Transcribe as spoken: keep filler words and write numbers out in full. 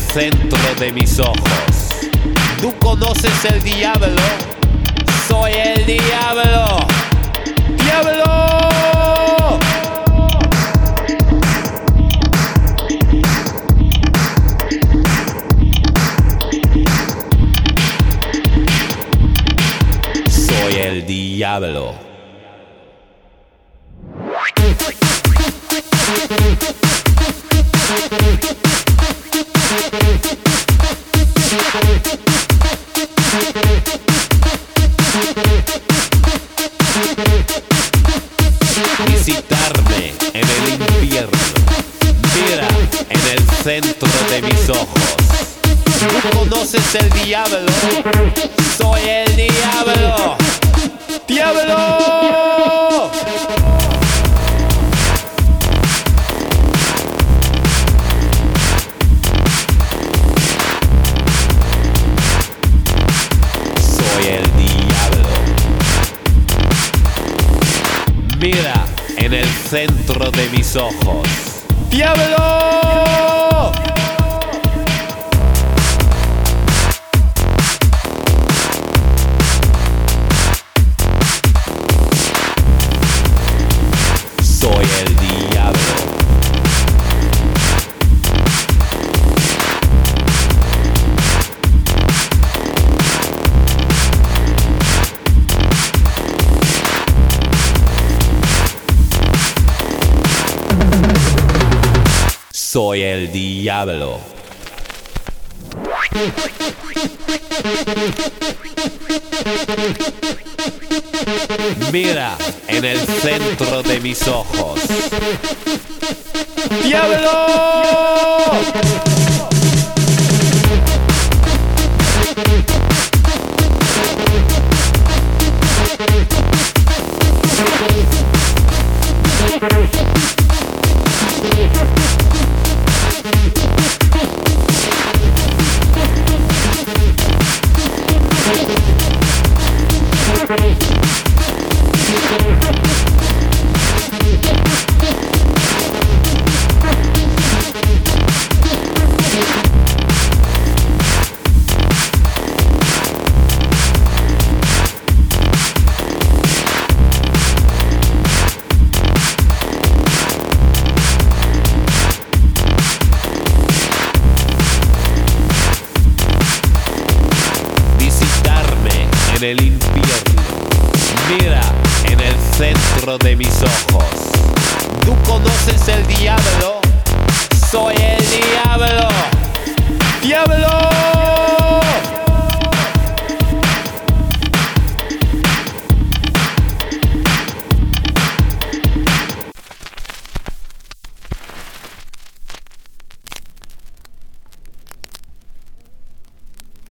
centro de mis ojos. ¿Tú conoces el diablo? Soy el diablo. ¡Diablo! Soy el diablo. Visitarme en el infierno. Mira en el centro de mis ojos. ¿Tú conoces el diablo? Soy el diablo. ¡Diablo! Soy el diablo. Mira en el centro de mis ojos. ¡Diablo! Soy el diablo. Soy el diablo. Mira en el centro de mis ojos. ¡Diablo! En el infierno. Mira en el centro de mis ojos. ¿Tú conoces el diablo?